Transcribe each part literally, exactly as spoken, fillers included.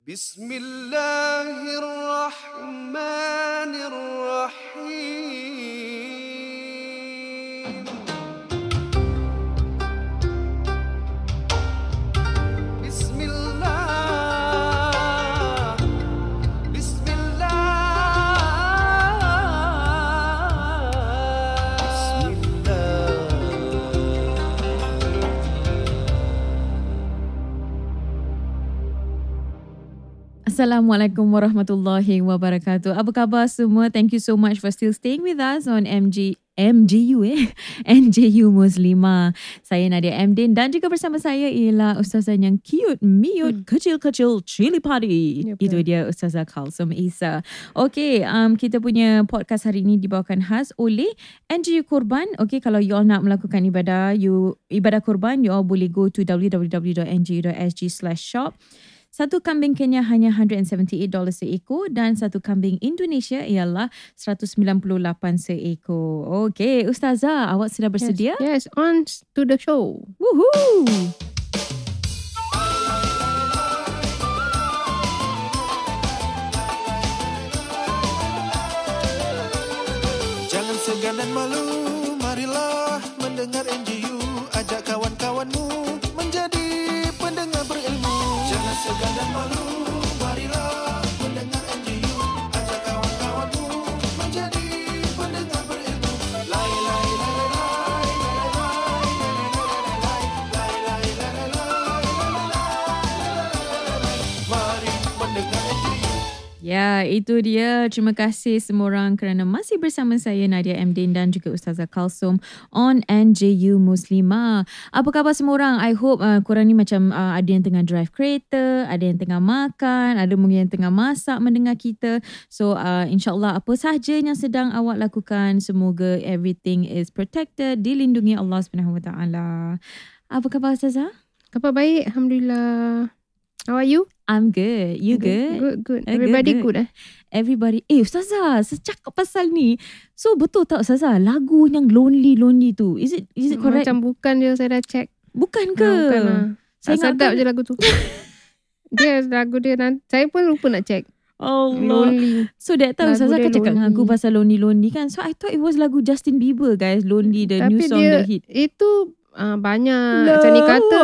Bismillahirrahmanirrahim. Bismillah. Bismillah. Assalamualaikum warahmatullahi wabarakatuh. Apa khabar semua? Thank you so much for still staying with us on M G M G U eh N J U Muslimah. Saya Nadia Amdin dan juga bersama saya ialah ustazah yang cute, miut, hmm. kecil-kecil, cili padi. Yep, Itu dia Ustazah Kalsum Isa. Okay, um, kita punya podcast hari ini dibawakan khas oleh N J U Korban. Okay, kalau you all nak melakukan ibadah, you ibadah korban, you all boleh go to w w w dot n j u dot s g slash shop. Satu kambing Kenya hanya one hundred seventy-eight dollars seekor dan satu kambing Indonesia ialah one hundred sembilan puluh lapan seekor. Okey, Ustazah, awak sudah bersedia? Yes, yes, on to the show. Woohoo! Jangan segan dan malu, marilah mendengar N J U. Ajak kawan-kawanmu menjadi pendengar berilmu. Jangan segan dan malu, marilah mendengar N J U. Ajak kawan-kawanmu menjadi pendengar berilmu. Lai lai lai lai lai lai lai lai. Mari mendengar N J U. Ya, itu dia. Terima kasih semua orang kerana masih bersama saya Nadia Amdin dan juga Ustazah Kalsum on N J U Muslimah. Apa khabar semua orang? I hope uh, korang ni macam uh, ada yang tengah drive kereta, ada yang tengah makan, ada mungkin yang tengah masak mendengar kita. So uh, insyaAllah apa sahaja yang sedang awak lakukan, semoga everything is protected, dilindungi Allah subhanahu wa taala. Apa khabar Ustazah? Khabar baik, Alhamdulillah. How are you? I'm good. You good? Good, good. Uh, Everybody good, good, good eh? Everybody. Eh Ustazah, secakap pasal ni. So betul tak Ustazah, lagu yang lonely-lonely tu, is it is it correct? Macam bukan dia, saya dah check. Bukan ke? Nah, bukan lah. Saya Saya sedap ingatkan- je lagu tu. Dia lagu dia, nanti, saya pun lupa nak check. Allah. Lonely. So that time Lagu Ustazah dia kan cakap dengan lonely. aku pasal lonely-lonely kan. So I thought it was lagu Justin Bieber guys, Lonely, the Tapi new song, dia, the hit. itu uh, banyak seni kata.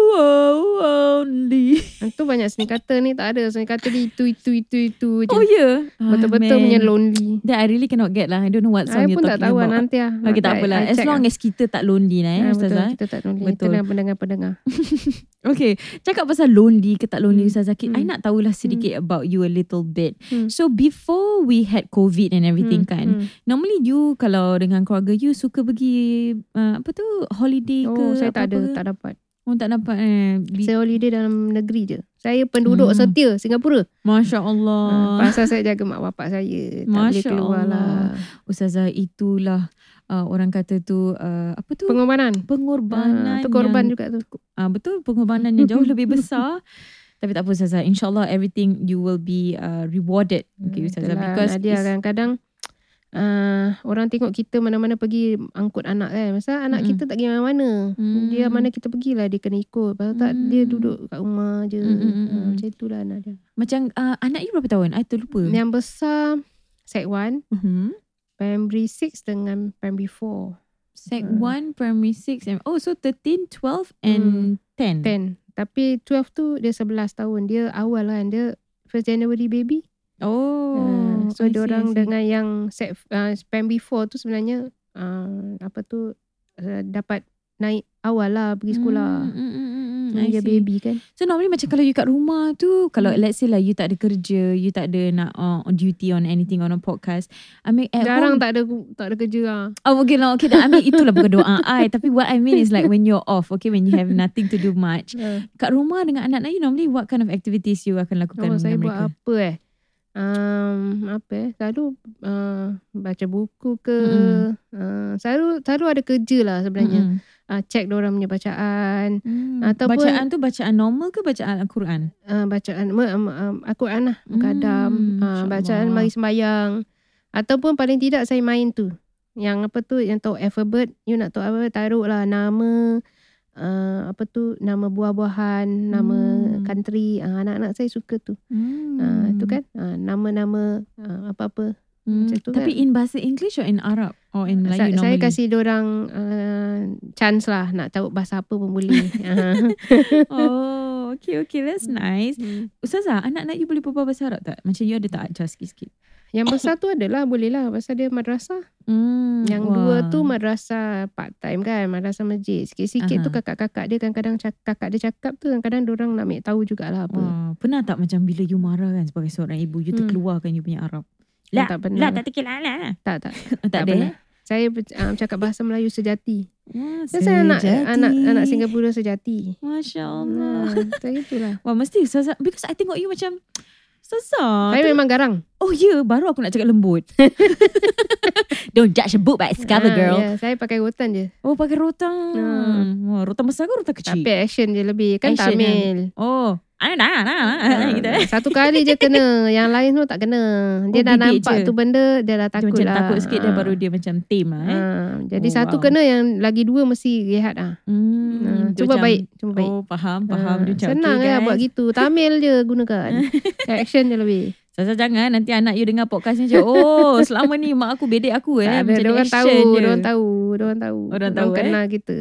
Lonely. Itu banyak seni kata ni, tak ada. Seni kata dia itu, itu, itu, itu je. Oh yeah. Betul-betul Ah, punya man. lonely. That I really cannot get lah. I don't know what song Saya you're pun tak talking tahu lah, about. nanti lah. Okay, tak Nanti apalah. I- I As check long lah. as kita tak lonely lah eh Ah, Ustazah. betul, kita tak lonely. Betul. Tenang pendengar-pendengar. Okay, cakap pasal lonely ke tak lonely Hmm. Ustazah, hmm. I nak tahulah sedikit Hmm. about you a little bit. Hmm. So before we had COVID and everything Hmm, kan, hmm. normally you kalau dengan keluarga you suka pergi uh, apa tu, holiday ke Oh, saya tak ada, apa-apa ke? tak dapat. Oh tak dapat eh. Bi- Saya holiday dalam negeri je. Saya penduduk Hmm. setia Singapura. Masya Ha, Allah. pasal saya jaga mak bapak saya. Tak boleh Masya keluar Allah. lah. Ustazah, itulah uh, orang kata tu uh, apa tu? Pengorbanan. Pengorbanan. Ha, tu korban yang, juga tu. uh, betul, pengorbanan yang jauh lebih besar. Tapi tak apa Ustazah, InsyaAllah everything you will be uh, rewarded. Okay Ustazah, Itulah, because Nadia it's- kadang-kadang uh, orang tengok kita mana-mana pergi angkut anak kan. Masa anak Mm-mm. kita tak pergi mana-mana. Hmm. Dia mana kita pergilah dia kena ikut. Pasal tak Hmm. dia duduk kat rumah je. Mm-mm. Ha, macam itulah Nadia. Macam uh, anak you berapa tahun? I terlupa. Yang besar Sec one, Uh-huh. Primary six dengan Primary four. Sec Hmm. one, Primary six. And, oh, so thirteen, twelve and ten. ten. Tapi twelve tu dia eleven tahun. Dia awal kan. Dia first January baby. Oh. Uh, so I see, dia orang I see. dengan yang set uh, Primary four tu sebenarnya uh, apa tu uh, dapat naik awal lah pergi sekolah. Mm, mm, mm, mm, mm. Hmm, I dia see. baby kan. So normally macam kalau you kat rumah tu, kalau Hmm. let's say lah you tak ada kerja, you tak ada nak uh, on duty on anything on a podcast. I mean at home. Jarang tak ada tak ada kerja lah. Oh okay lah, okay. I mean itulah bukan doa I. Tapi what I mean is like when you're off, okay, when you have nothing to do much. Uh, Kat rumah dengan anak-anak you, normally what kind of activities you akan lakukan oh, saya dengan buat mereka? apa eh? Um, apa eh? Selalu uh, baca buku ke. Mm-mm. Uh, selalu selalu ada kerja lah sebenarnya. Mm-mm. Uh, check diorang punya bacaan. Hmm. Ataupun- Bacaan tu bacaan normal ke bacaan Al-Quran? Uh, bacaan um, um, Al-Quran lah. Mukadam. Hmm, uh, bacaan insyaAllah. mari sembahyang. Ataupun paling tidak saya main tu. Yang apa tu, yang tahu alphabet. You nak tahu apa, taruh lah nama. uh, apa tu nama buah-buahan, nama Hmm. country. Uh, anak-anak saya suka tu. Hmm. Uh, tu kan uh, nama-nama uh, apa-apa. Hmm. Macam tu Tapi kan. in bahasa English or in Arab or in Sa- Melayu saya normally? kasih diorang uh, chance lah, nak tahu bahasa apa pun boleh. Uh. Oh, okay, okay. That's nice. Hmm. Ustazah, anak-anak you boleh berbual bahasa Arab tak? Macam you ada tak ajar sikit-sikit? Yang besar tu adalah boleh lah pasal dia madrasah. Hmm. Yang wah. dua tu madrasah part time kan, madrasah masjid. Sikit-sikit Aha. tu kakak-kakak dia kadang-kadang cakap, kakak dia cakap tu kadang-kadang diorang nak ambil tahu jugalah apa. Wah, pernah tak macam bila you marah kan sebagai seorang ibu, you Hmm. terkeluarkan you punya Arab? Lah, Lah, tak pernah. lah tak tekil lah, lah. Tak, tak. Tak, tak ada pernah. eh? Saya um, cakap bahasa Melayu sejati. Wah, Saya anak sejati. anak anak Singapura sejati. Masya Allah. Nah, saya itulah. Wah, mesti Ustazah, because I tengok you macam Ustazah. Saya tu- memang garang. Oh ya, yeah, baru aku nak cakap lembut. Don't judge a book by its cover, Ah, girl. ya, saya pakai rotan je. Oh, pakai rotan. Hmm. Wah, rotan besar ke rotan kecil? Tapi action je lebih. Kan Action, Tamil. Oh, ah, dah, dah, dah. Gitu. Ah, satu kali je kena. Yang lain semua tak kena. Dia Oh, dah bibik nampak je. tu benda, dia dah Dia takut macam lah. takut sikit dah Ah. baru dia macam tame lah eh. Ah, jadi Oh, satu wow. kena, yang lagi dua mesti rehat ah. Hmm, Ah, dia cuba macam- baik, cuba baik. Oh, faham, faham. Ah, Dia macam, senang okay, lah guys. buat gitu. Tamil je gunakan. Action je lebih. Ustazah jangan nanti anak you dengar podcast ni macam, oh, selama ni mak aku bedek aku eh. Tak ada, Macam dia ni orang tahu, action je. dia orang tahu, dia orang tahu. Orang tahu, eh? kenal kita.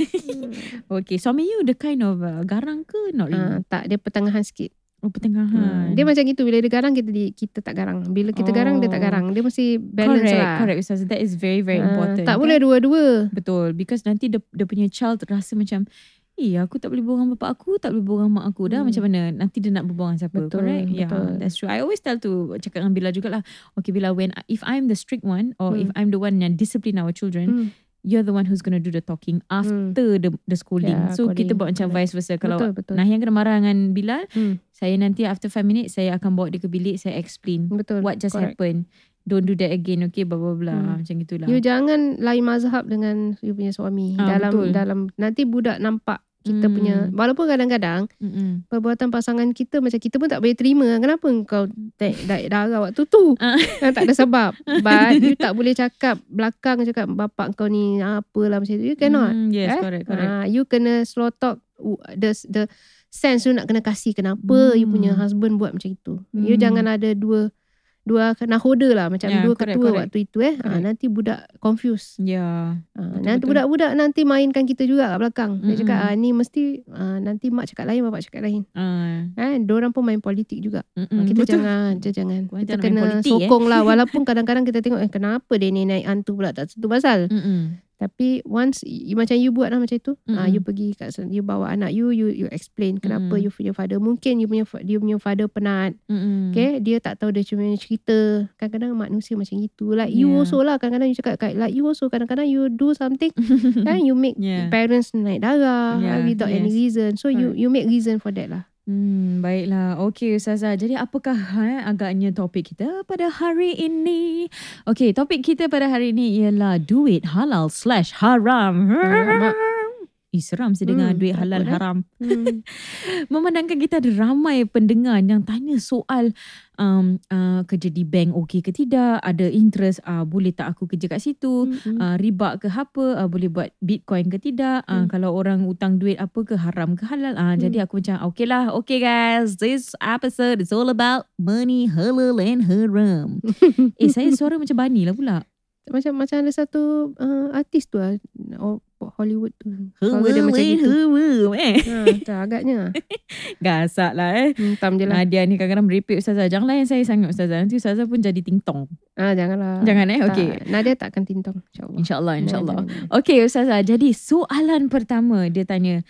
Okay, suami you the kind of uh, garang ke? Not Ah, really. tak, dia pertengahan sikit. Oh, pertengahan. Hmm. Dia macam gitu, bila dia garang kita di, kita tak garang. Bila kita garang dia tak Oh. garang. Dia mesti balance correct, lah. Correct, Ustazah. That is very, very Ah, important. tak kan? boleh dua-dua. Betul. Because nanti dia, dia punya child rasa macam, eh aku tak boleh berbual dengan bapak aku, tak boleh berbual dengan mak aku. Dah Hmm. macam mana? Nanti dia nak berbual dengan siapa? Betul, Correct? Yeah, betul. that's true. I always tell to cakap dengan Bila jugalah. Okay Bila, when if I'm the strict one or Hmm. if I'm the one yang discipline our children, Hmm. you're the one who's going to do the talking after the, the scolding. Yeah, So kita calling. buat macam Correct. vice versa. Kalau Betul, betul. Nahian kena marah dengan Bilal, Hmm. saya nanti after five minutes, saya akan bawa dia ke bilik, saya explain Betul. what just correct. happened. Don't do that again, okay, blah blah blah. Hmm. Macam gitulah. You jangan lain mazhab dengan you punya suami. Ah, dalam betul. dalam nanti budak nampak kita Hmm. punya, walaupun kadang-kadang Mm-mm. perbuatan pasangan kita macam kita pun tak boleh terima. Kenapa kau naik naik darah waktu tu? Ah. Kan tak ada sebab. But you tak boleh cakap belakang cakap bapak kau ni apalah macam tu. You cannot. Mm, yes, eh? correct, correct. Ah, you kena slow talk. Uh, The the sense you nak kena kasih kenapa Hmm. you punya husband buat macam itu. You Hmm. jangan ada dua dua nahoda lah macam Yeah, dua correct, ketua correct. waktu itu eh. Ah, Correct. nanti budak confuse. Ya. Ah, Betul, nanti betul. budak-budak nanti mainkan kita juga kat belakang. Dia Mm-mm. cakap ah, ni mesti ah, nanti mak cakap lain, bapak cakap lain. Ah, Eh, diorang pun main politik juga. mm-mm, Ah, kita betul. jangan, kita jangan. Korang Kita jangan main kena politik, eh. sokong lah. Walaupun kadang-kadang kita tengok eh kenapa dia ni naik hantu pula, tak tentu pasal. Mm-mm. Tapi once you, macam you buat lah macam itu, ah, Mm-mm. you pergi kat sana, you bawa anak you, you you explain kenapa Mm-mm. you punya father, mungkin you punya fa- dia punya father penat. Mm-mm. Okay, dia tak tahu dia cuma cerita. Kadang-kadang manusia macam gitu. Like you Yeah. also lah, kadang-kadang you cakap kat- like you also kadang-kadang you do something kan, you make Yeah. parents naik darah Yeah, without any yes. reason. So you Correct. you make reason for that lah. Hmm, baiklah. Okey Ustazah. Jadi apakah eh, agaknya topik kita pada hari ini? Okey, topik kita pada hari ini ialah duit halal slash haram. Alamak. Ih, seram sih dengar Hmm, duit takut, halal eh. haram. Hmm. Memandangkan kita ada ramai pendengar yang tanya soal um, uh, kerja di bank okey ke tidak, ada interest, uh, boleh tak aku kerja kat situ, Mm-mm. uh, riba ke apa, uh, boleh buat bitcoin ke tidak, uh, Hmm. kalau orang utang duit apa ke, haram ke halal. Uh, Hmm. Jadi aku macam okay lah, okay guys, this episode is all about money, halal and haram. eh saya suara macam Bani lah pula. Macam macam ada satu uh, artis tu lah, oh, Hollywood tu. Suara dia macam gitu. Haram eh. Ha, tak agaknya. Gasak lah eh. Hentam je lah. Nadia ni kadang-kadang merepek Ustazah. Jangan layan saya sangat Ustazah. Nanti Ustazah pun jadi ting-tong. Ah, janganlah. Jangan eh, Tak, okay. Nadia takkan tintong, insyaAllah. InsyaAllah, insyaAllah. Jangan, jangan. Okay Ustazah, jadi soalan pertama dia tanya,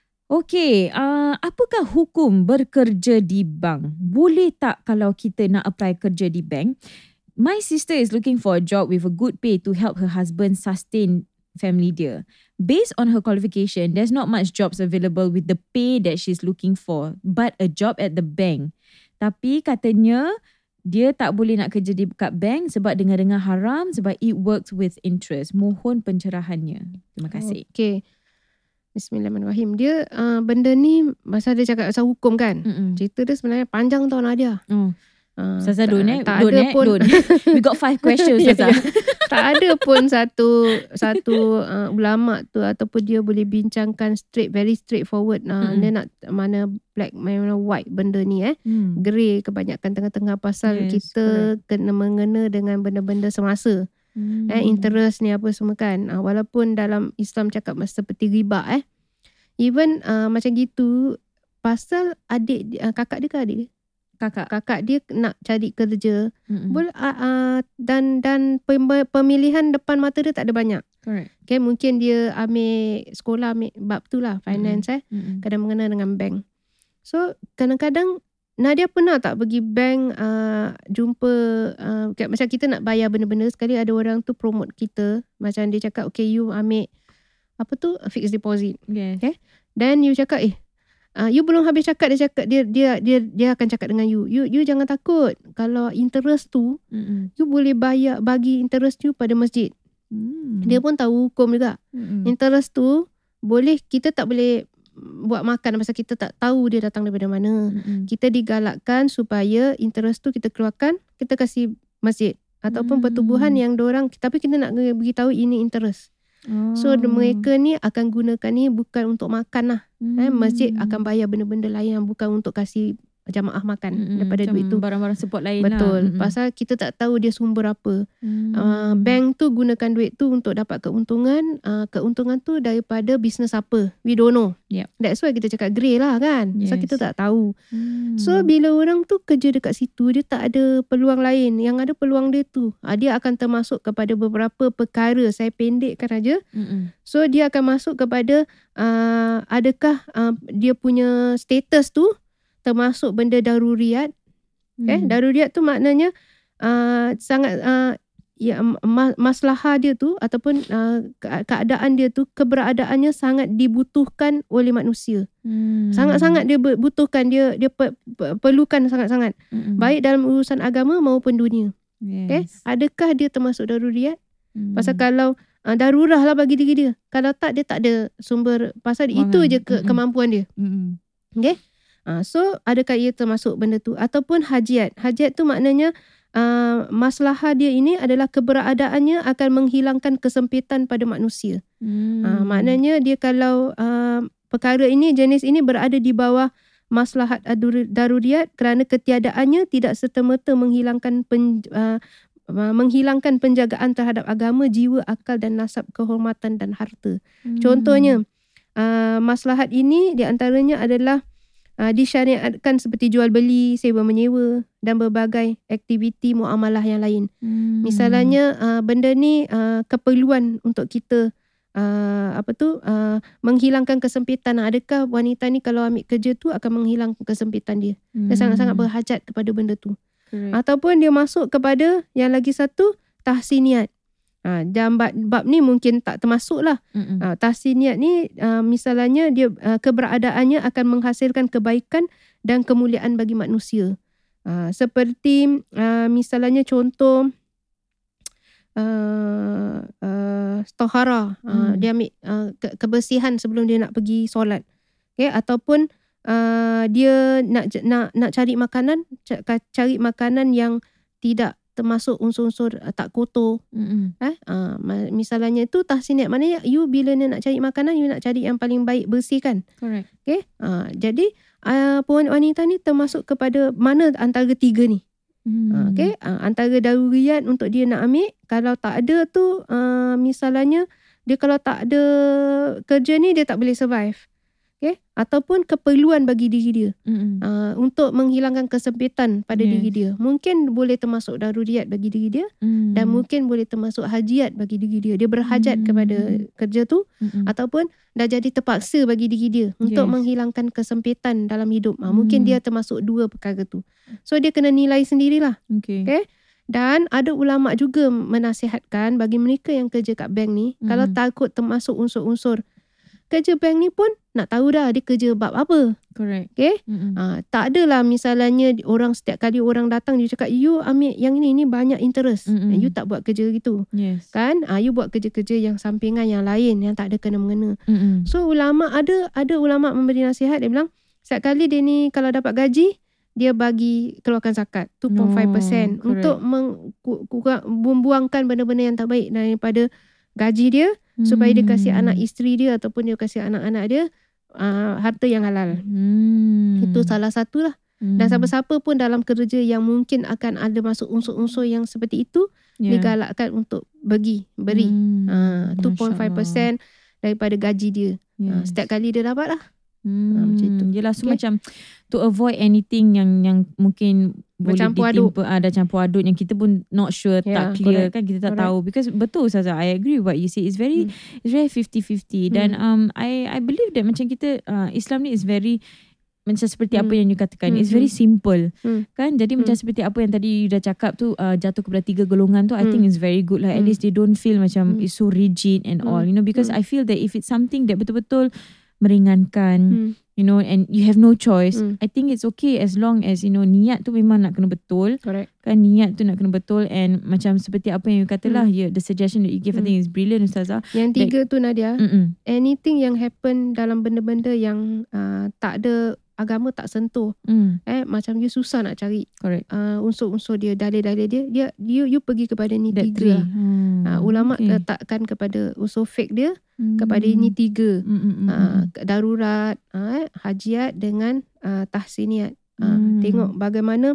okay, uh, apakah hukum bekerja di bank? Boleh tak kalau kita nak apply kerja di bank? My sister is looking for a job with a good pay to help her husband sustain family dia. Based on her qualification, there's not much jobs available with the pay that she's looking for, but a job at the bank. Tapi katanya dia tak boleh nak kerja di kat bank sebab dengar-dengar haram, sebab it works with interest. Mohon pencerahannya. Terima kasih. Okay. Bismillahirrahmanirrahim. Dia uh, benda ni masa dia cakap pasal hukum kan. Mm-mm. Cerita dia sebenarnya panjang tau Nadia. Oh. Uh, Ustazah don't eh. tak Don't ada eh. pun Don't. We got five questions Ya, Ustazah. ya. Tak ada pun satu satu uh, ulama tu ataupun dia boleh bincangkan straight, very straightforward. Uh, Mm-mm. dia nak mana black, mana white benda ni eh. Hmm. Grey kebanyakan tengah-tengah pasal Yes, kita kena mengena dengan benda-benda semasa. Hmm. Eh, interest ni apa semua kan. Uh, walaupun dalam Islam cakap seperti riba eh. Even uh, macam gitu pasal adik uh, kakak dia ke adik dia? Kakak. Kakak dia nak cari kerja. Mm-mm. Boleh uh, uh, dan dan pem- pemilihan depan mata dia tak ada banyak. Correct. Okay, mungkin dia ambil sekolah ambil bab tu lah, finance Mm-mm. eh. Mm-mm. Kadang mengena dengan bank. So kadang-kadang Nadia pernah tak pergi bank uh, jumpa uh, kat, macam kita nak bayar benda-benda, sekali ada orang tu promote kita. Macam dia cakap okay you ambil apa tu fixed deposit. Yes. Okay. Then you cakap eh Uh, you belum habis cakap dia cakap dia dia dia dia akan cakap dengan you. You you jangan takut. Kalau interest tu Mm-mm. you boleh bayar bagi interest you pada masjid. Hmm. Dia pun tahu hukum juga. Mm-mm. Interest tu boleh kita tak boleh buat makan pasal kita tak tahu dia datang daripada mana. Mm-mm. Kita digalakkan supaya interest tu kita keluarkan, kita kasih masjid ataupun Hmm. pertubuhan yang diorang, tapi kita nak beritahu ini interest. Oh. So mereka ni akan gunakan ni bukan untuk makan lah. Hmm. Eh, masjid akan bayar benda-benda lain yang bukan untuk kasih jamaah makan Mm-mm. daripada Macam duit tu. barang-barang support lain Betul. lah. Pasal kita tak tahu dia sumber apa. Hmm. Uh, bank tu gunakan duit tu untuk dapat keuntungan. Uh, keuntungan tu daripada bisnes apa. We don't know. Yep. That's why kita cakap grey lah kan. So Yes. kita tak tahu. Hmm. So bila orang tu kerja dekat situ, dia tak ada peluang lain. Yang ada peluang dia tu. Uh, dia akan termasuk kepada beberapa perkara. Saya pendekkan aja. Mm-mm. So dia akan masuk kepada uh, adakah uh, dia punya status tu termasuk benda daruriyat. Okay? Hmm. Daruriyat tu maknanya uh, sangat uh, ya, ma- maslahah dia tu ataupun uh, ke- keadaan dia tu, keberadaannya sangat dibutuhkan oleh manusia. Hmm. Sangat-sangat dia ber- butuhkan, dia dia pe- pe- perlukan sangat-sangat. Mm-mm. Baik dalam urusan agama maupun dunia. Yes. Okay? Adakah dia termasuk daruriyat? Hmm. Pasal kalau uh, darurah lah bagi diri dia. Kalau tak, dia tak ada sumber. Pasal Wangan. itu je ke, Mm-mm. kemampuan dia. Mm-mm. Okay? Uh, so, adakah ia termasuk benda tu? Ataupun hajiat. Hajiat tu maknanya uh, maslahah dia ini adalah keberadaannya akan menghilangkan kesempitan pada manusia. Hmm. Uh, maknanya dia kalau uh, perkara ini, jenis ini berada di bawah maslahat adur- daruriyat kerana ketiadaannya tidak serta-merta menghilangkan pen, uh, uh, menghilangkan penjagaan terhadap agama, jiwa, akal dan nasab, kehormatan dan harta. Hmm. Contohnya, uh, maslahat ini di antaranya adalah uh, disyariatkan seperti jual beli, sewa menyewa dan berbagai aktiviti muamalah yang lain. Hmm. Misalnya uh, benda ni uh, keperluan untuk kita uh, apa tu uh, menghilangkan kesempitan. Adakah wanita ni kalau ambil kerja tu akan menghilangkan kesempitan dia? Dia Hmm. sangat-sangat berhajat kepada benda tu. Correct. Ataupun dia masuk kepada yang lagi satu, tahsiniat. Ha, dan bab, bab ni mungkin tak termasuk lah. Mm-mm. Ha, tahsiniat ni uh, misalnya dia uh, keberadaannya akan menghasilkan kebaikan dan kemuliaan bagi manusia. Uh, seperti uh, misalnya contoh uh, uh, tohara. Uh, Hmm. dia ambil uh, ke- kebersihan sebelum dia nak pergi solat. Okay? Ataupun uh, dia nak nak nak cari makanan, ca- cari makanan yang tidak termasuk unsur-unsur uh, tak kotor. Mm-mm. Eh, uh, misalnya itu tahsiniat, maknanya you bila ni nak cari makanan, you nak cari yang paling baik, bersih kan. Correct. Okay? Uh, jadi uh, wanita ni termasuk kepada mana antara tiga ni. Hmm. Uh, okay? Uh, antara daruriyat untuk dia nak ambil, kalau tak ada tu uh, misalnya dia kalau tak ada kerja ni dia tak boleh survive. Okay? Ataupun keperluan bagi diri dia. Mm-mm. Uh, untuk menghilangkan kesempitan pada Yes. diri dia. Mungkin boleh termasuk daruriyat bagi diri dia. Mm. Dan mungkin boleh termasuk hajiat bagi diri dia. Dia berhajat Hmm. kepada kerja tu. Mm-mm. Ataupun dah jadi terpaksa bagi diri dia. Untuk Yes. menghilangkan kesempitan dalam hidup. Ha, mungkin Hmm. dia termasuk dua perkara tu. So dia kena nilai sendirilah. Okay. Okay? Dan ada ulama' juga menasihatkan bagi mereka yang kerja kat bank ni. Hmm. Kalau takut termasuk unsur-unsur kerja bank ni pun nak tahu dah dia kerja bab apa. Correct. Okay? Mm-mm. Ha, tak adalah misalnya orang setiap kali orang datang dia cakap you ambil yang ini, ini banyak interest. Mm-mm. You tak buat kerja gitu. Yes. Kan? Ha, you buat kerja-kerja yang sampingan yang lain yang tak ada kena-mengena. Mm-mm. So ulama' ada ada ulama' memberi nasihat, dia bilang setiap kali dia ni kalau dapat gaji, dia bagi keluarkan zakat two point five percent Oh, untuk meng, ku- kurang, membuangkan benda-benda yang tak baik daripada gaji dia Hmm. supaya dia kasih anak isteri dia ataupun dia kasih anak-anak dia uh, harta yang halal. Hmm. Itu salah satu lah. Hmm. Dan siapa-siapa pun dalam kerja yang mungkin akan ada masuk unsur-unsur yang seperti itu, Yeah. digalakkan untuk bagi, beri. Hmm. Uh, two point five Masya percent daripada gaji dia. Uh, Yes. setiap kali dia dapat lah. Hmm, Ah, macam itu. Yelah, so Okay. macam to avoid anything yang yang mungkin boleh Bercampur aduk. ditimpa, ada campur aduk yang kita pun not sure, Yeah, tak clear correct. kan, kita tak Correct. tahu. Because betul Ustazah, I agree with what you say. It's very Hmm. it's very fifty-fifty. Dan um I I believe that macam kita uh, Islam ni is very macam seperti apa Hmm. yang you katakan. Hmm, It's very hmm. simple. Hmm. Kan? Jadi macam Hmm. seperti apa yang tadi you dah cakap tu, uh, jatuh kepada tiga golongan tu, I think Hmm. is very good. Like at Hmm. least they don't feel macam Hmm. it's so rigid and all. Hmm. You know, because Hmm. I feel that if it's something that betul-betul meringankan, Hmm. you know, and you have no choice, Hmm. I think it's okay as long as, you know, niat tu memang nak kena betul. Correct. Kan, niat tu nak kena betul. And macam seperti apa yang you kata lah, Hmm. yeah, the suggestion that you give, I Hmm. think is brilliant Ustazah. Yang tiga tu Nadia, Mm-mm. anything yang happen dalam benda-benda yang uh, tak ada agama tak sentuh, Mm, eh macam you susah nak cari correct. uh, unsur-unsur dia, dalil-dalil dia, dia you, you pergi kepada ni That tiga three. lah. Hmm, Uh, ulama okay. letakkan kepada unsur fake dia Hmm. kepada ini tiga. Mm, mm, mm, Uh, mm. darurat, uh, hajiat dengan uh, tahsiniat. Uh, Hmm. Tengok bagaimana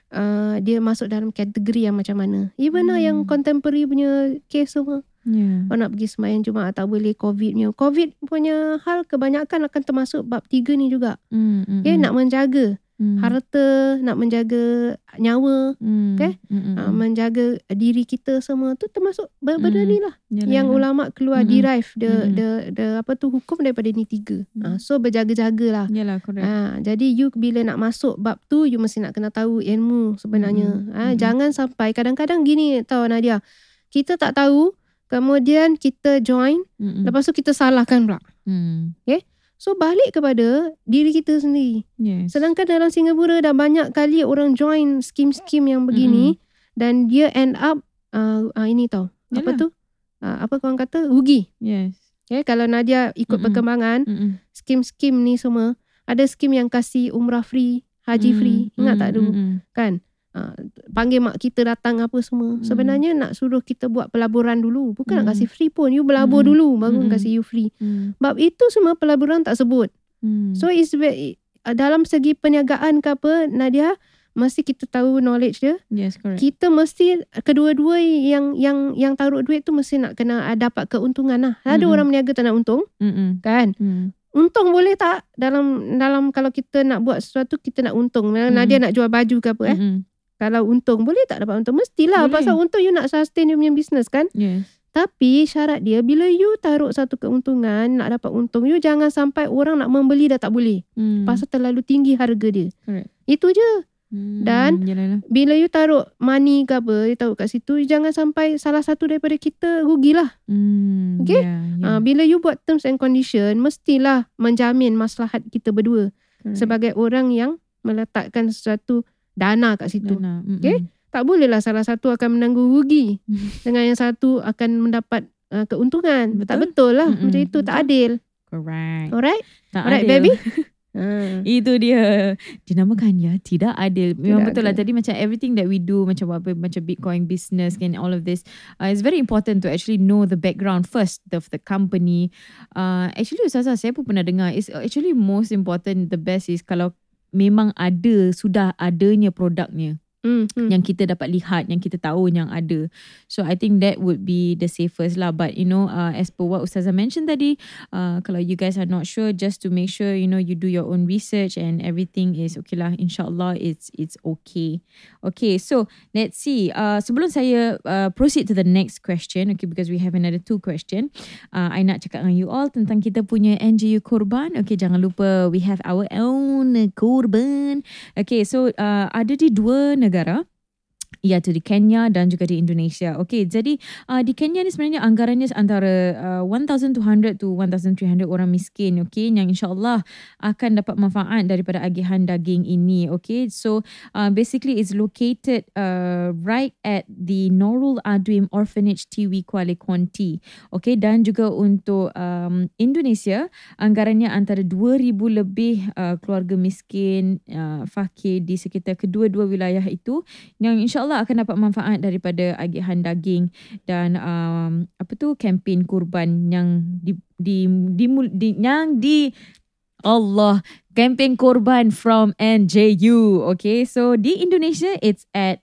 uh, dia masuk dalam kategori yang macam mana. Even lah yang Hmm. contemporary punya case semua. Yeah. Orang nak pergi sembahyang Jumaat tak boleh, COVID punya. COVID punya hal kebanyakan akan termasuk bab tiga ni juga. Mm, mm, Okay, mm. nak menjaga Mm. harta, nak menjaga nyawa, Mm, okay? mm, mm, uh, mm. menjaga diri kita semua tu termasuk benda Hmm. ni lah. Yalah, Yang yalah. ulama keluar Mm-mm. derive the, Mm-mm. the the apa tu hukum daripada ni tiga. Mm. Uh, so berjaga-jaga lah. Yalah, correct. Ha, jadi you bila nak masuk bab tu, you mesti nak kena tahu ilmu sebenarnya. Mm-mm. Ha, Mm-mm. jangan sampai kadang-kadang gini tau Nadia. Kita tak tahu, kemudian kita join, Mm-mm. lepas tu kita salahkan pula. Mm. So balik kepada diri kita sendiri. Yes. Sedangkan dalam Singapura dah banyak kali orang join skim-skim yang begini dan dia end up uh, uh, ini tau. Apa Yalah. tu? Uh, apa korang kata? Rugi. Yes. Okay, kalau Nadia ikut Mm-mm. perkembangan, Mm-mm. skim-skim ni semua, ada skim yang kasih umrah free, haji Mm, free. Ingat mm, tak dulu? mm, mm. Kan? Uh, panggil mak kita datang apa semua. Mm. Sebenarnya nak suruh kita buat pelaburan dulu. Bukan nak Mm. kasih free pun. You berlabur Mm. dulu baru Mm. kasih you free. Mm. Bab itu semua pelaburan tak sebut. Mm. So it's very, uh, dalam segi perniagaan ke apa, Nadia, mesti kita tahu knowledge dia. Yes, correct. Kita mesti kedua-dua yang yang yang taruh duit tu mesti nak kena uh, dapat keuntungan lah. Ada Mm-mm. orang berniaga tak nak untung, Mm-mm. kan? Mm. Untung boleh tak dalam dalam kalau kita nak buat sesuatu kita nak untung. Mm. Nadia nak jual baju ke apa eh? Mm-mm. Kalau untung boleh tak dapat untung? Mestilah. Boleh. Pasal untung you nak sustain you punya business kan? Yes. Tapi syarat dia bila you taruh satu keuntungan nak dapat untung, you jangan sampai orang nak membeli dah tak boleh. Mm. Pasal terlalu tinggi harga dia. Correct. Itu je. Mm. Dan Yalah, yalah. Bila you taruh money ke apa, you taruh kat situ, you jangan sampai salah satu daripada kita rugilah. Mm. Okay? Yeah, yeah. Uh, bila you buat terms and condition, mestilah menjamin maslahat kita berdua. Correct. Sebagai orang yang meletakkan sesuatu dana kat situ. Dana. Mm-mm. Okay? Tak bolehlah salah satu akan menanggung rugi dengan yang satu akan mendapat uh, keuntungan. Betul. Tak betul lah. Mm-mm. Macam itu tak Betul. adil. Correct. Alright? Tak Alright adil. baby? Ha. Itu dia dinamakannya tidak adil. Memang Tidak betul lah adil. tadi macam everything that we do macam apa macam Bitcoin business and all of this, uh, it's very important to actually know the background first of the company. Uh, actually Ustazah, saya pun pernah dengar, it's actually most important, the best is kalau memang ada, sudah adanya produknya. Hmm, hmm. yang kita dapat lihat, yang kita tahu yang ada. So I think that would be the safest lah. But you know, uh, as per what Ustazah mentioned tadi, uh, kalau you guys are not sure, just to make sure you know you do your own research and everything is okay lah. InsyaAllah it's it's okay. Okay, so let's see. Uh, sebelum saya uh, proceed to the next question, okay, because we have another two question. Uh, I nak cakap dengan you all tentang kita punya N G U Korban. Okay, jangan lupa we have our own Korban. Okay, so uh, ada di dua negara. Ya, tu di Kenya dan juga di Indonesia. Okey, jadi uh, di Kenya ni sebenarnya anggarannya antara uh, one thousand two hundred to one thousand three hundred orang miskin, okey, yang insya-Allah akan dapat manfaat daripada agihan daging ini, okey. So, uh, basically it's located uh, right at the Nurul Adwim Orphanage T W Kuala Konti. Okey, dan juga untuk um, Indonesia, anggarannya antara dua ribu lebih uh, keluarga miskin uh, fakir di sekitar kedua-dua wilayah itu yang insya-Allah akan dapat manfaat daripada agihan daging dan um, apa tu kempen kurban yang di di, di, di yang di Allah kempen kurban from N J U. Okay, so di Indonesia it's at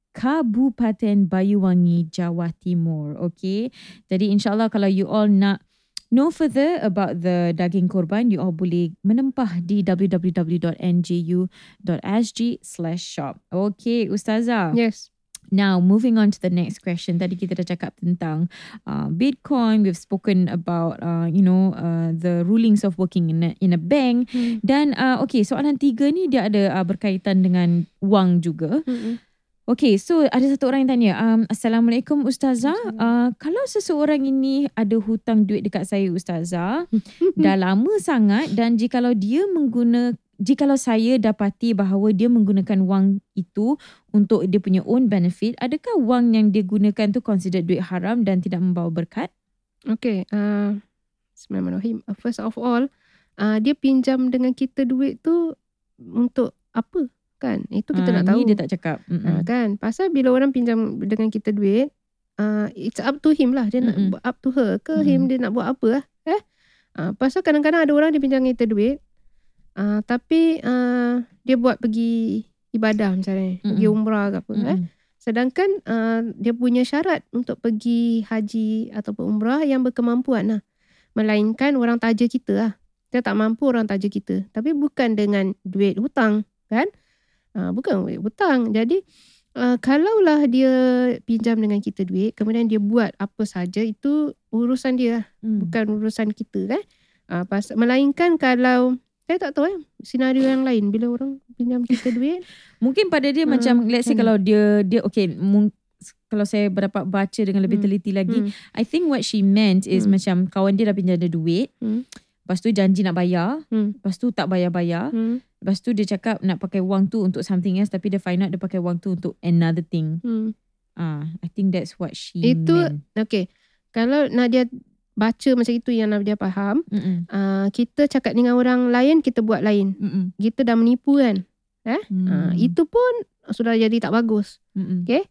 Kabupaten Bayuwangi, Jawa Timur. Okay, jadi insyaAllah kalau you all nak know further about the daging korban, you all boleh menempah di w w w dot n j u dot s g slash shop. Okay, Ustazah. Yes. Now, moving on to the next question. Tadi kita dah cakap tentang uh, Bitcoin. We've spoken about, uh, you know, uh, the rulings of working in a, in a bank. Hmm. Dan, uh, okay, soalan tiga ni dia ada uh, berkaitan dengan wang juga. Hmm. Okay, so ada satu orang yang tanya, um, Assalamualaikum Ustazah, uh, kalau seseorang ini ada hutang duit dekat saya Ustazah, dah lama sangat, dan jikalau dia mengguna, jikalau saya dapati bahawa dia menggunakan wang itu untuk dia punya own benefit, adakah wang yang dia gunakan tu considered duit haram dan tidak membawa berkat? Okay, uh, Bismillahirrahmanirrahim. First of all, uh, dia pinjam dengan kita duit tu untuk apa? Kan, itu kita uh, nak tahu. Ni dia tak cakap. Uh, kan, pasal bila orang pinjam dengan kita duit, uh, it's up to him lah. Dia Mm-mm. nak up to her ke Mm-mm. him, dia nak buat apa lah. Eh? Uh, pasal kadang-kadang ada orang dia pinjam dengan kita duit, uh, tapi uh, dia buat pergi ibadah misalnya, Mm-mm. pergi umrah ke apa. Eh? Sedangkan uh, dia punya syarat untuk pergi haji ataupun umrah yang berkemampuan lah. Melainkan orang taja kita lah. Dia tak mampu orang taja kita. Tapi bukan dengan duit hutang, kan? Uh, bukan duit hutang. Jadi uh, kalaulah dia pinjam dengan kita duit, kemudian dia buat apa saja, itu urusan dia, hmm. bukan urusan kita, kan? Uh, pas, melainkan kalau saya tak tahu eh senario yang lain bila orang pinjam kita duit, mungkin pada dia uh, macam let's say kalau dia dia okay, mung, kalau saya dapat baca dengan lebih hmm. teliti lagi, hmm. I think what she meant is hmm. macam kawan dia dah pinjam dia duit, hmm. lepas tu janji nak bayar, hmm. lepas tu tak bayar-bayar, hmm. lepas tu dia cakap nak pakai wang tu untuk something else, tapi dia find out dia pakai wang tu untuk another thing. Hmm. Ah, I think that's what she itu, meant. Okay, kalau Nadia baca macam itu yang Nadia faham, uh, kita cakap dengan orang lain, kita buat lain. Mm-mm. Kita dah menipu kan. Eh? Mm. Uh, itu pun sudah jadi tak bagus. Mm-mm. Okay.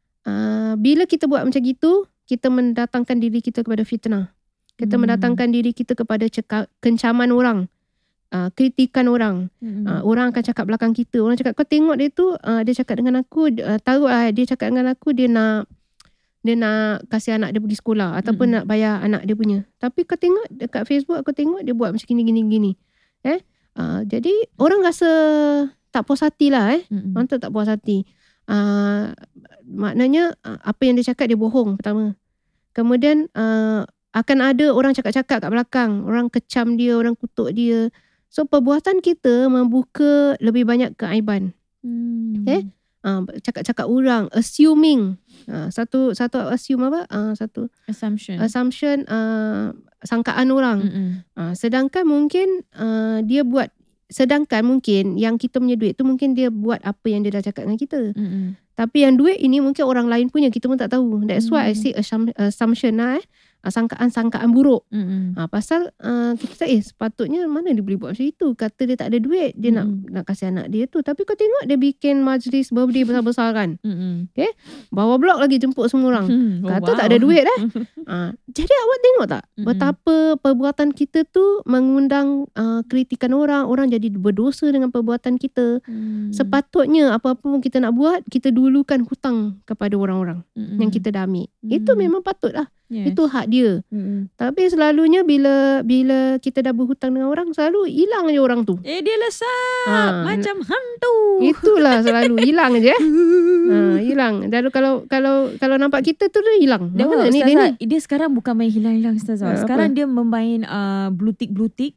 Uh, bila kita buat macam gitu, kita mendatangkan diri kita kepada fitnah. Kita mm. mendatangkan diri kita kepada cekak, kencaman orang. Uh, kritikan orang. Mm-hmm. Uh, orang akan cakap belakang kita. Orang cakap, kau tengok dia tu, uh, dia cakap dengan aku, uh, tahu lah, dia cakap dengan aku, dia nak dia nak kasih anak dia pergi sekolah ataupun mm-hmm. nak bayar anak dia punya. Tapi kau tengok dekat Facebook, aku tengok dia buat macam gini-gini-gini. Eh? Uh, jadi orang rasa tak puas hati lah. Eh? Mm-hmm. Orang tu tak puas hati. Uh, maknanya uh, apa yang dia cakap dia bohong pertama. Kemudian uh, akan ada orang cakap-cakap kat belakang. Orang kecam dia, orang kutuk dia. So perbuatan kita membuka lebih banyak keaiban. Hmm. Eh? Uh, cakap-cakap orang, assuming. Uh, satu satu assume apa? Uh, satu assumption. Assumption uh, sangkaan orang. Uh, sedangkan mungkin uh, dia buat sedangkan mungkin yang kita punya duit tu mungkin dia buat apa yang dia dah cakap dengan kita. Mm-mm. Tapi yang duit ini mungkin orang lain punya, kita pun tak tahu. That's mm. why I say assumption lah eh. Sangkaan-sangkaan buruk. Mm-hmm. Ha, pasal uh, kita eh sepatutnya mana dia boleh buat macam itu. Kata dia tak ada duit, dia mm-hmm. nak nak kasih anak dia tu. Tapi kau tengok dia bikin majlis birthday besar-besaran. Mm-hmm. Okay? Bawa blok lagi jemput semua orang. Mm-hmm. Kata oh, wow. tak ada duit eh. ha, jadi awak tengok tak mm-hmm. betapa perbuatan kita tu mengundang uh, kritikan orang. Orang jadi berdosa dengan perbuatan kita. Mm-hmm. Sepatutnya apa-apa pun kita nak buat, kita dulukan hutang kepada orang-orang mm-hmm. yang kita dah ambil. Mm-hmm. Itu memang patut lah. Yes. Itu hak dia. Mm-hmm. Tapi selalunya bila bila kita dah berhutang dengan orang, selalu hilang je orang tu. Eh dia lesap ha. macam hantu. Itulah selalu hilang je. ha, hilang. Dan kalau kalau kalau nampak kita tu dia hilang. Dia, oh, ni, dia, ni. dia sekarang bukan main hilang-hilang Ustazah. Ha, sekarang apa? Dia memain uh, blue tick blue tick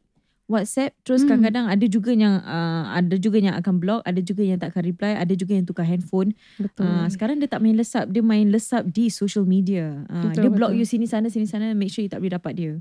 WhatsApp, terus Hmm. kadang-kadang ada juga yang uh, ada juga yang akan block, ada juga yang tak akan reply, ada juga yang tukar handphone. Betul. Uh, sekarang dia tak main lesap, dia main lesap di social media. Uh, Betul, dia block betul. you sini sana sini sana, make sure you tak boleh dapat dia.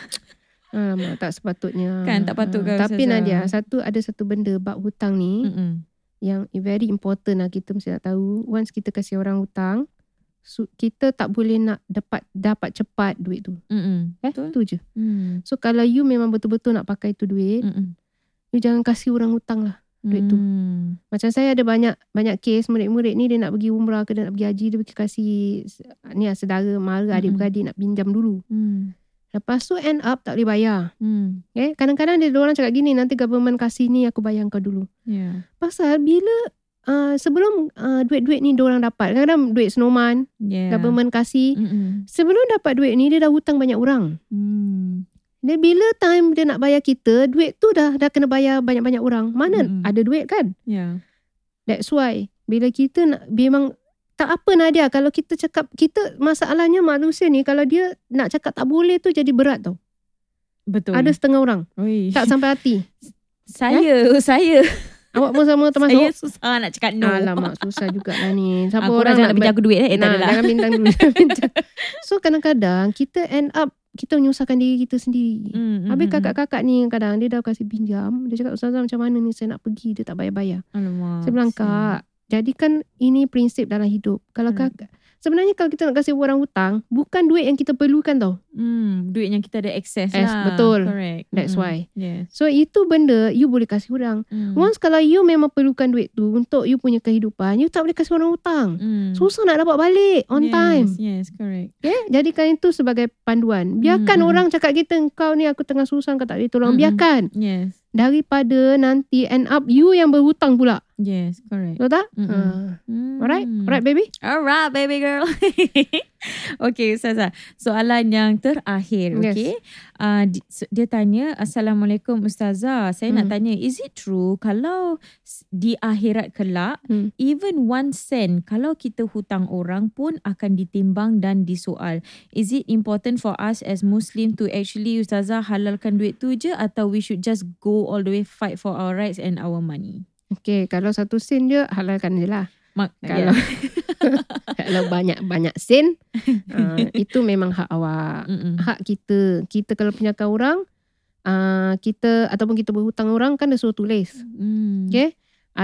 Alamak, tak sepatutnya. Kan, tak patut Ah, kan, Tapi Ustazah? Nadia, satu ada satu benda bab hutang ni Mm-mm. yang very important lah, kita mesti nak tahu. Once kita kasih orang hutang, su- kita tak boleh nak dapat dapat cepat duit tu. Mm-mm. Eh, Betul. tu je. Mm. So kalau you memang betul-betul nak pakai tu duit, Mm-mm. you jangan kasih orang hutang lah duit tu. Mm. Macam saya ada banyak banyak kes murid-murid ni, dia nak pergi umrah ke dia nak pergi haji, dia pergi kasih ni lah, saudara, mara, Mm-mm. adik-beradik nak pinjam dulu. Mm. Lepas tu end up tak boleh bayar. Mm. Okay? Kadang-kadang dia orang cakap gini, nanti government kasih ni aku bayar kau dulu. Yeah. Pasal bila uh, sebelum uh, duit-duit ni diorang dapat, kadang-kadang duit senoman, Yeah. government kasih. Mm-mm. Sebelum dapat duit ni, dia dah hutang banyak orang. Mm. Dia bila time dia nak bayar kita, duit tu dah dah kena bayar banyak-banyak orang. Mana Mm-mm. ada duit kan? Yeah. That's why bila kita nak, memang tak apa Nadia, kalau kita cakap, kita masalahnya manusia ni, kalau dia nak cakap tak boleh tu jadi berat tau. Betul. Ada setengah orang Oi. tak sampai hati. Saya, saya. Awak pun sama termasuk. Saya susah nak cakap no. Alamak, susah jugalah ni. Siapa Aku orang orang nak pinjam aku duit eh. Eh, tak Nah, adalah. jangan bintang dulu. Jangan bintang. So kadang-kadang kita end up, kita menyusahkan diri kita sendiri. Mm, mm, Habis mm, kakak-kakak ni kadang dia dah kasih pinjam. Dia cakap, Ustazah macam mana ni saya nak pergi, dia tak bayar-bayar. mm. Alamak. Saya bilang, Kak, jadikan ini prinsip dalam hidup. Kalau Hmm. kakak, sebenarnya kalau kita nak kasih orang hutang, bukan duit yang kita perlukan tau. Hmm, duit yang kita ada access Yes, lah. betul. Correct. That's Mm-mm. why. Yes. So itu benda you boleh kasih orang. Mm. Once kalau you memang perlukan duit tu untuk you punya kehidupan, you tak boleh kasih orang hutang. Mm. Susah nak dapat balik on yes, time. Yes, correct. Okay? Jadikan itu sebagai panduan. Biarkan Mm, mm. orang cakap kita, kau ni aku tengah susah, kau tak boleh tolong. Mm, mm. Biarkan. Yes. Daripada nanti end up you yang berhutang pula. Yes, correct. Betul tak? Mm, mm. Ha. Mm. Alright? Alright baby? Alright, baby girl. Okay, Ustazah. Soalan yang terakhir, Yes. okay. Uh, di- s- dia tanya, Assalamualaikum Ustazah. Saya nak Hmm. tanya, is it true kalau s- di akhirat kelak, Hmm. even one cent, kalau kita hutang orang pun akan ditimbang dan disoal. Is it important for us as Muslim to actually, Ustazah, halalkan duit tu je, atau we should just go all the way fight for our rights and our money? Okay, kalau satu sen je, halalkan je lah. Mak, Kalau yeah. kalau banyak-banyak sen, uh, itu memang hak awak. Mm-mm. Hak kita. Kita kalau punyakan orang, uh, kita ataupun kita berhutang orang kan dia suruh tulis. Mm. Okay?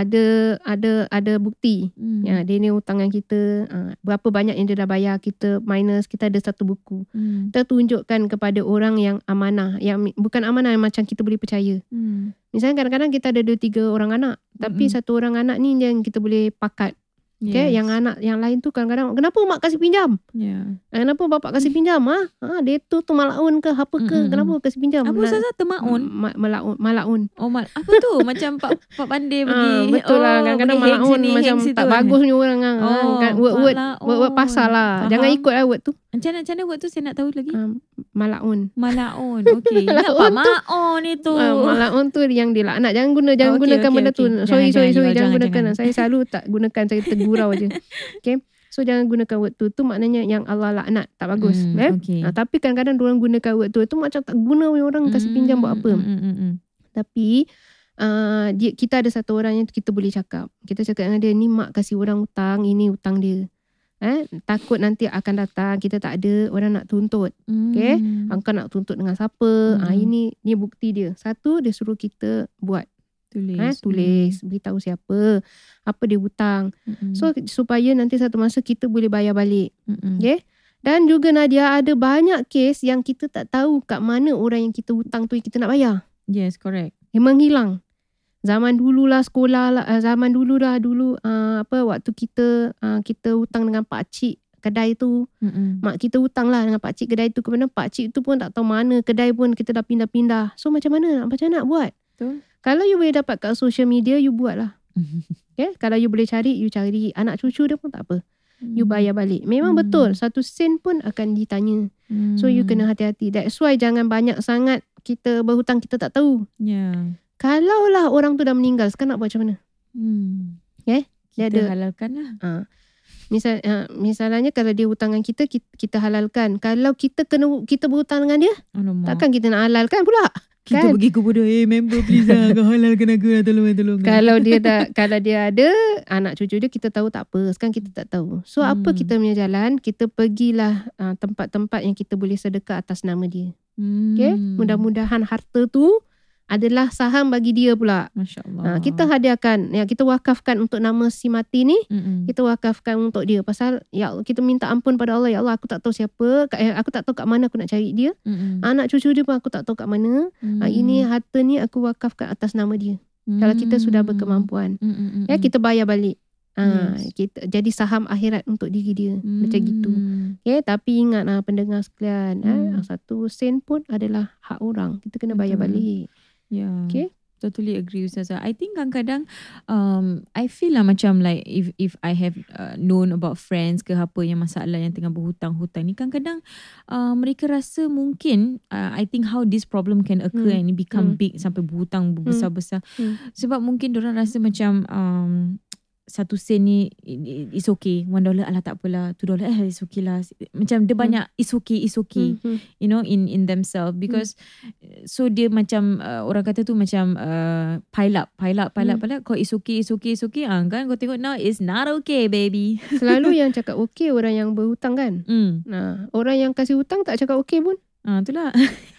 Ada ada ada bukti. Mm. Ya, dia ni hutangan kita, uh, berapa banyak yang dia dah bayar, kita minus, kita ada satu buku. Mm. Kita tunjukkan kepada orang yang amanah, yang bukan amanah yang macam kita boleh percaya. Mm. Misalnya kadang-kadang kita ada dua tiga orang anak, tapi Mm-mm. satu orang anak ni yang kita boleh pakat. Okay? Yes. Yang anak yang lain tu kadang-kadang, kenapa mak kasih pinjam? Yeah. Kenapa bapak kasih pinjam? Ha? Ha, dia tu tu malaun ke apa ke? Mm-mm. Kenapa kasih pinjam? Apa Lah- Ustazah termaun? Ma- malaun, malaun. Oh, mal, apa tu? Macam Pak Pak Pandai pergi. Ah, betul oh, lah. Kadang-kadang pergi hang malaun sini, macam hang situ tak kan. bagus punya orang. Ah. Oh, kan, word-word, malaun. word-word pasal lah. Faham. Jangan ikut lah word tu. Macam mana, macam mana buat tu saya nak tahu lagi. Um, malaun. Malaun. Okey. Ingat Pak Malaun tu- Maon itu. Uh, malaun tu yang dilaknat. Jangan guna jangan Okey, gunakan okey, benda tu. okey. Sorry, Jangan, sorry, jangan, sorry. jangan, Jangan gunakan. jangan. Saya selalu tak gunakan. Saya tergurau je. Okay. So jangan gunakan word tu. Tu maknanya yang Allah laknat. Tak bagus. Hmm, eh? okey. Ah, tapi kadang-kadang diorang gunakan word tu. Tu macam tak guna orang kasih pinjam buat apa. Mm, mm, mm, mm. Tapi uh, dia, kita ada satu orang yang kita boleh cakap. Kita cakap dengan dia, ni mak kasih orang hutang, ini hutang dia. Eh, takut nanti akan datang, kita tak ada, orang nak tuntut. Okay? Mm. Engkau nak tuntut dengan siapa? Hmm. Ah, ini ni bukti dia. Satu, dia suruh kita buat. Tulis. Eh, tulis, beritahu siapa, apa dia hutang. Mm, mm, So supaya nanti satu masa kita boleh bayar balik. mm, mm. Okay? Dan juga Nadia, ada banyak kes yang kita tak tahu kat mana orang yang kita hutang tu yang kita nak bayar. Yes, correct. Yang menghilang. Zaman dululah sekolah lah, uh, zaman dulu dah dulu uh, apa waktu kita uh, kita hutang dengan pak cik kedai tu. Mm, mm. Mak kita hutang lah dengan pak cik kedai tu, kemudian pak cik tu pun tak tahu mana kedai pun, kita dah pindah-pindah. So macam mana? Macam mana nak buat? Betul. Kalau you boleh dapat kat social media, you buat lah. Okay? Kalau you boleh cari, you cari. Anak cucu dia pun tak apa. You bayar balik. Memang Hmm. betul. Satu sen pun akan ditanya. So you kena hati-hati. That's why jangan banyak sangat kita berhutang kita tak tahu. Yeah. Kalaulah orang tu dah meninggal, sekarang nak buat macam mana? Hmm. Okay? Dia Kita ada. halalkan lah. Ha. Misal, uh, misalnya kalau dia hutangan kita, kita, kita halalkan. Kalau kita kena kita berhutang dengan dia, Alamak. takkan kita nak halalkan pula? Kita Kan? pergi kubur dia, hey member please lah, kau halalkan aku lah, tolong tolong. Kalau dia dah, kalau dia ada anak cucu dia, kita tahu tak apa. Sekarang kita tak tahu. So Hmm. apa kita punya jalan? Kita pergilah uh, tempat-tempat yang kita boleh sedekah atas nama dia. Hmm. Okay? Mudah-mudahan harta tu adalah saham bagi dia pula. Masya Allah. Uh, kita hadiahkan, ya kita wakafkan untuk nama si mati ni. Mm-mm. Kita wakafkan untuk dia. Pasal ya Allah, kita minta ampun pada Allah. Ya Allah, aku tak tahu siapa, eh, aku tak tahu kat mana aku nak cari dia. Mm-mm. Anak cucu dia pun aku tak tahu kat mana. Mm. Uh, ini harta ni aku wakafkan atas nama dia. Kalau kita sudah berkemampuan. Mm-mm. Ya, kita bayar balik. Ha, Yes. kita jadi saham akhirat untuk diri dia. Mm. Macam gitu. Okay, tapi ingat lah pendengar sekalian, Mm. eh, satu sen pun adalah hak orang. Kita kena bayar Betul. balik. Yeah. Okay. Totally agree Ustazah. I think kadang-kadang um, I feel lah macam like if if I have uh, known about friends ke apa yang masalah yang tengah berhutang-hutang ni, kadang-kadang uh, mereka rasa mungkin uh, I think how this problem can occur Hmm. and it become Hmm. big sampai berhutang berbesar-besar. Hmm. Sebab mungkin diorang rasa macam um, satu sen ni it's okay, one dollar alah tak apalah, two dollar eh it's okay lah. Macam dia banyak it's okay, it's okay. Hmm. You know, in in themselves because hmm. so dia macam uh, orang kata tu macam uh, pile up pile up pile up Hmm. pile up. Kau it's okay it's okay it's okay ah, kan kau tengok now it's not okay baby. Selalu yang cakap okey orang yang berhutang kan. hmm. Nah, orang yang kasih hutang tak cakap okey pun. Ah, itulah.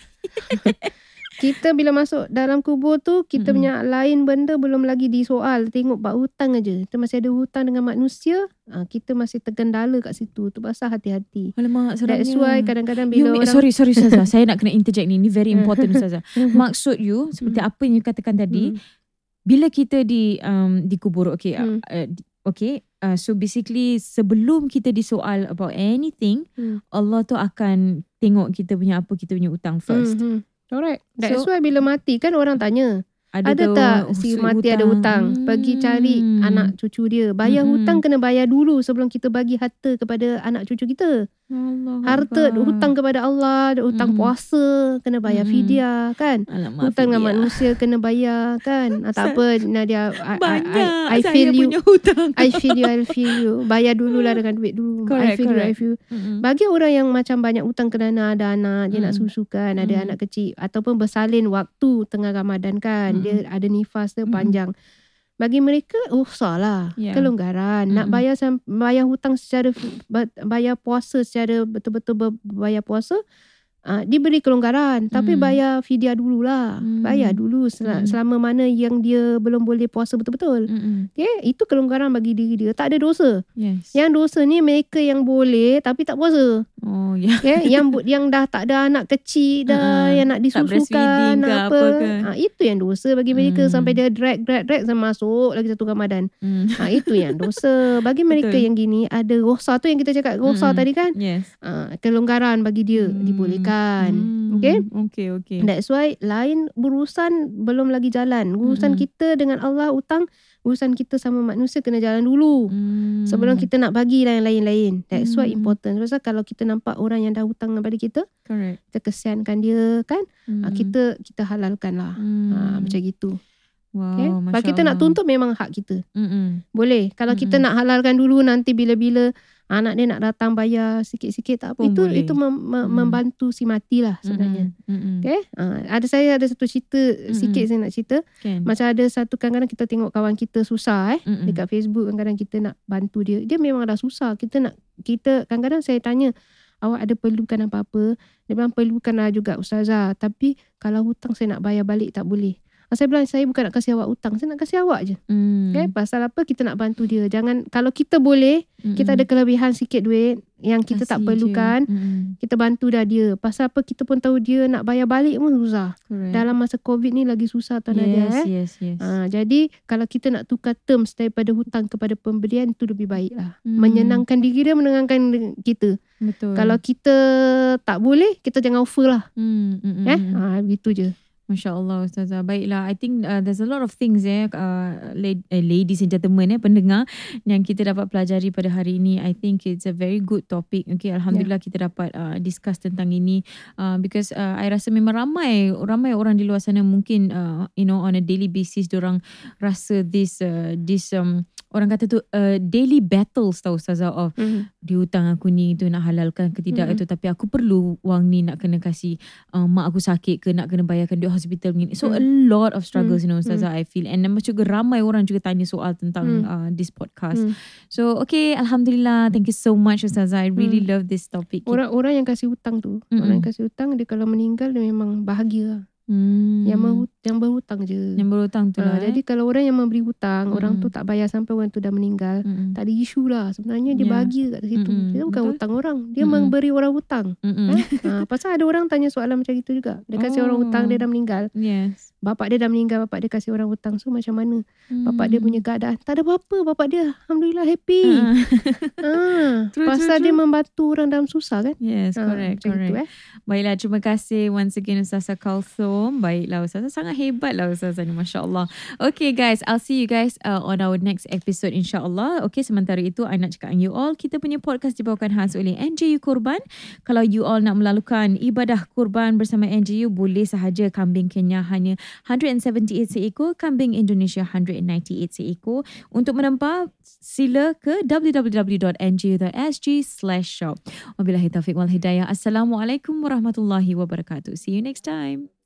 Kita bila masuk dalam kubur tu, kita Mm-mm. punya lain benda belum lagi disoal. Tengok bab hutang aja. Kita masih ada hutang dengan manusia, ah, kita masih tergendala kat situ. Tu pasal hati-hati. Alamak, seramnya. That's why kadang-kadang You bila mean, orang sorry sorry Ustazah, saya nak kena interject ni. Ni very important Ustazah. Maksud you seperti Hmm. apa yang you katakan tadi, Hmm. bila kita di um, dikubur, okay, Hmm. uh, di- okay, uh, so basically sebelum kita disoal about anything, Hmm. Allah tu akan tengok kita punya apa kita punya utang first. Hmm. Correct. That's So- why bila mati kan orang tanya, ada ke tak si hutang? mati ada hutang? Pergi cari Hmm. anak cucu dia. Bayar Mm-mm. hutang kena bayar dulu sebelum kita bagi harta kepada anak cucu kita. Allah Harta Akbar. hutang kepada Allah, hutang Mm-mm. puasa kena bayar Mm-mm. fidyah kan. Alamak, Hutang dengan Fidia. manusia kena bayar kan. Ah, tak apa Nadia, I, I, Banyak I, I saya feel you. punya hutang. I feel you, I feel you. Bayar dululah dengan duit dulu. I Correct, feel you, I correct. feel you. Mm-mm. Bagi orang yang macam banyak hutang kerana ada anak, dia nak Mm. susukan, ada Mm. anak kecil ataupun bersalin waktu tengah Ramadan kan, Mm. dia ada nifas dia Mm. panjang. Bagi mereka rukhsah lah, Yeah. kelonggaran. Nak Mm-mm. bayar sam- bayar hutang secara bayar puasa secara betul-betul ber- bayar puasa, uh, diberi kelonggaran, tapi Mm. bayar fidyah dululah. Mm. Bayar dulu sel- Mm. selama mana yang dia belum boleh puasa betul-betul. Mm-mm. Okay, itu kelonggaran bagi diri dia, tak ada dosa. Yes. Yang dosa ni mereka yang boleh tapi tak puasa. Oh ya. Okay, yang bu- yang dah tak ada anak kecil dah, Uh-uh. yang nak Tak disusukan, breastfeeding ke nak apa apa. ke. Ha, itu yang dosa bagi mereka Hmm. sampai dia drag drag drag sampai masuk lagi satu Ramadan. Mm. Ha, itu yang dosa. Bagi mereka Betul. yang gini ada rosa tu yang kita cakap rosa Mm-mm. tadi kan. Yes. Ha, kelonggaran bagi dia Hmm. dibolehkan. Hmm. Okay. Okay, okay. That's why lain berurusan belum lagi jalan. Urusan Mm-mm. kita dengan Allah hutang, urusan kita sama manusia kena jalan dulu. Hmm. Sebelum kita nak bagilah yang lain-lain. That's why Hmm. important. Sebab kalau kita nampak orang yang dah hutang kepada kita, Correct. kita kesiankan dia kan, Hmm. hmm. kita kita halalkan lah. Hmm. Ha, macam gitu. Wow, Okay? Masya Kalau kita nak Allah. tuntut memang hak kita. Mm-mm. Boleh. Kalau kita Mm-mm. nak halalkan dulu, nanti bila-bila anak dia nak datang bayar sikit-sikit tak apa. Pun Itu boleh. itu mem, mem, Mm. membantu si mati lah sebenarnya. Mm-mm. Mm-mm. Okay? Ha, ada saya ada satu cerita sikit saya nak cerita. Kan? Macam ada satu kadang-kadang kita tengok kawan kita susah eh. Mm-mm. Dekat Facebook kadang-kadang kita nak bantu dia. Dia memang dah susah. Kita nak kita kadang-kadang saya tanya, awak ada perlukan apa-apa? Dia bilang perlukan lah juga Ustazah. Tapi kalau hutang saya nak bayar balik tak boleh. Saya bilang saya bukan nak kasih awak hutang. Saya nak kasih awak je. Mm. Okay? Pasal apa kita nak bantu dia. Jangan, kalau kita boleh, Mm-mm. kita ada kelebihan sikit duit yang kita tak Kasih perlukan. je. Mm-mm. Kita bantu dah dia. Pasal apa kita pun tahu dia nak bayar balik pun susah. Correct. Dalam masa COVID ni lagi susah tuan Nadia yes, eh. yes, yes. Ha, jadi kalau kita nak tukar terms daripada hutang kepada pemberian itu lebih baik lah. Hmm. Menyenangkan diri dia, menenangkan kita. Betul. Kalau kita tak boleh, kita jangan offer lah. mm, mm, mm, Eh? mm. Ha, gitu je. Masya Allah Ustazah. Baiklah, I think uh, there's a lot of things eh, uh, la- eh, ladies and gentlemen eh, pendengar yang kita dapat pelajari pada hari ini. I think it's a very good topic. Okay, Alhamdulillah yeah. kita dapat uh, discuss tentang ini uh, because uh, I rasa memang ramai ramai orang di luar sana mungkin uh, you know on a daily basis diorang rasa this uh, this um, orang kata tu uh, daily battles tau Ustazah of Mm. dia hutang aku ni tu nak halalkan ke tidak Mm. itu, tapi aku perlu wang ni nak kena kasih uh, mak aku sakit ke, nak kena bayarkan duit hospital ni. So Mm. a lot of struggles Mm. you know Ustazah, I feel, and nampak juga ramai orang juga tanya soal tentang Mm. uh, this podcast. Mm. So okay, Alhamdulillah, thank you so much Ustazah, I really Mm. love this topic. Orang-orang yang kasih hutang tu, Mm-mm. orang yang kasih hutang dia kalau meninggal dia memang bahagia. hmm. Yang menghut- yang berhutang je. yang berhutang tu Ha, lah eh. jadi kalau orang yang memberi hutang, orang Mm-mm. tu tak bayar sampai orang tu dah meninggal, Mm-mm. tak ada isu lah. Sebenarnya dia Yeah. bahagia kat situ. Mm-mm. Dia bukan Betul. hutang orang, dia Mm-mm. memberi orang hutang. Mm-mm. Ha, pasal ada orang tanya soalan macam itu juga. Dia kasih orang hutang, dia dah meninggal. Yes. Bapak dia dah meninggal, bapak dia kasih orang hutang. So macam mana? Bapak dia Hmm. punya keadaan, tak ada apa-apa. Bapak dia Alhamdulillah happy. Ah. Ha, True, pasal true, dia true. membantu orang dalam susah kan? Yes, Ha, correct, macam correct. itu eh. Baiklah, terima kasih once again Ustazah Kalthum. Baiklah Ustazah, sangat hebat lah Ustazah ni, Masya Allah. Okay guys, I'll see you guys uh, on our next episode insyaAllah. Okay, sementara itu I nak cakap dengan you all, kita punya podcast dibawakan khas oleh N J U Kurban. Kalau you all nak melalukan ibadah kurban bersama N J U, boleh sahaja. Kambing Kenya hanya one hundred seventy-eight seekor, kambing Indonesia one hundred ninety-eight seekor. Untuk menempah, sila ke w w w dot n j u dot s g slash shop. Wabillahi taufiq wal hidayah. Assalamualaikum warahmatullahi wabarakatuh. See you next time.